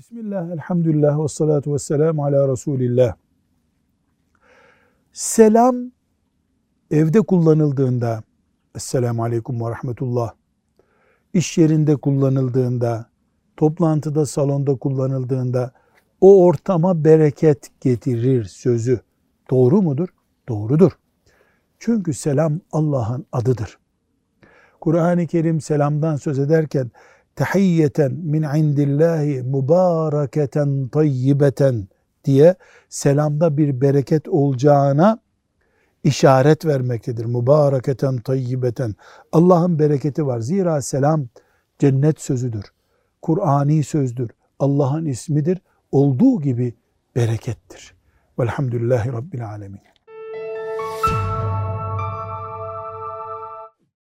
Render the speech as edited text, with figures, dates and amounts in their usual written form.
Bismillah, elhamdülillah, ve salatu ve selamu ala Resulillah. Selam evde kullanıldığında, Esselamu aleyküm ve rahmetullah, iş yerinde kullanıldığında, toplantıda, salonda kullanıldığında o ortama bereket getirir sözü doğru mudur? Doğrudur. Çünkü selam Allah'ın adıdır. Kur'an-ı Kerim selamdan söz ederken tahiyyeten min indillahi mübareketen tayyibeten diye selamda bir bereket olacağına işaret vermektedir. Mübareketen tayyibeten. Allah'ın bereketi var. Zira selam cennet sözüdür. Kur'ani sözdür. Allah'ın ismidir. Olduğu gibi berekettir. Velhamdülillahi Rabbil alemin.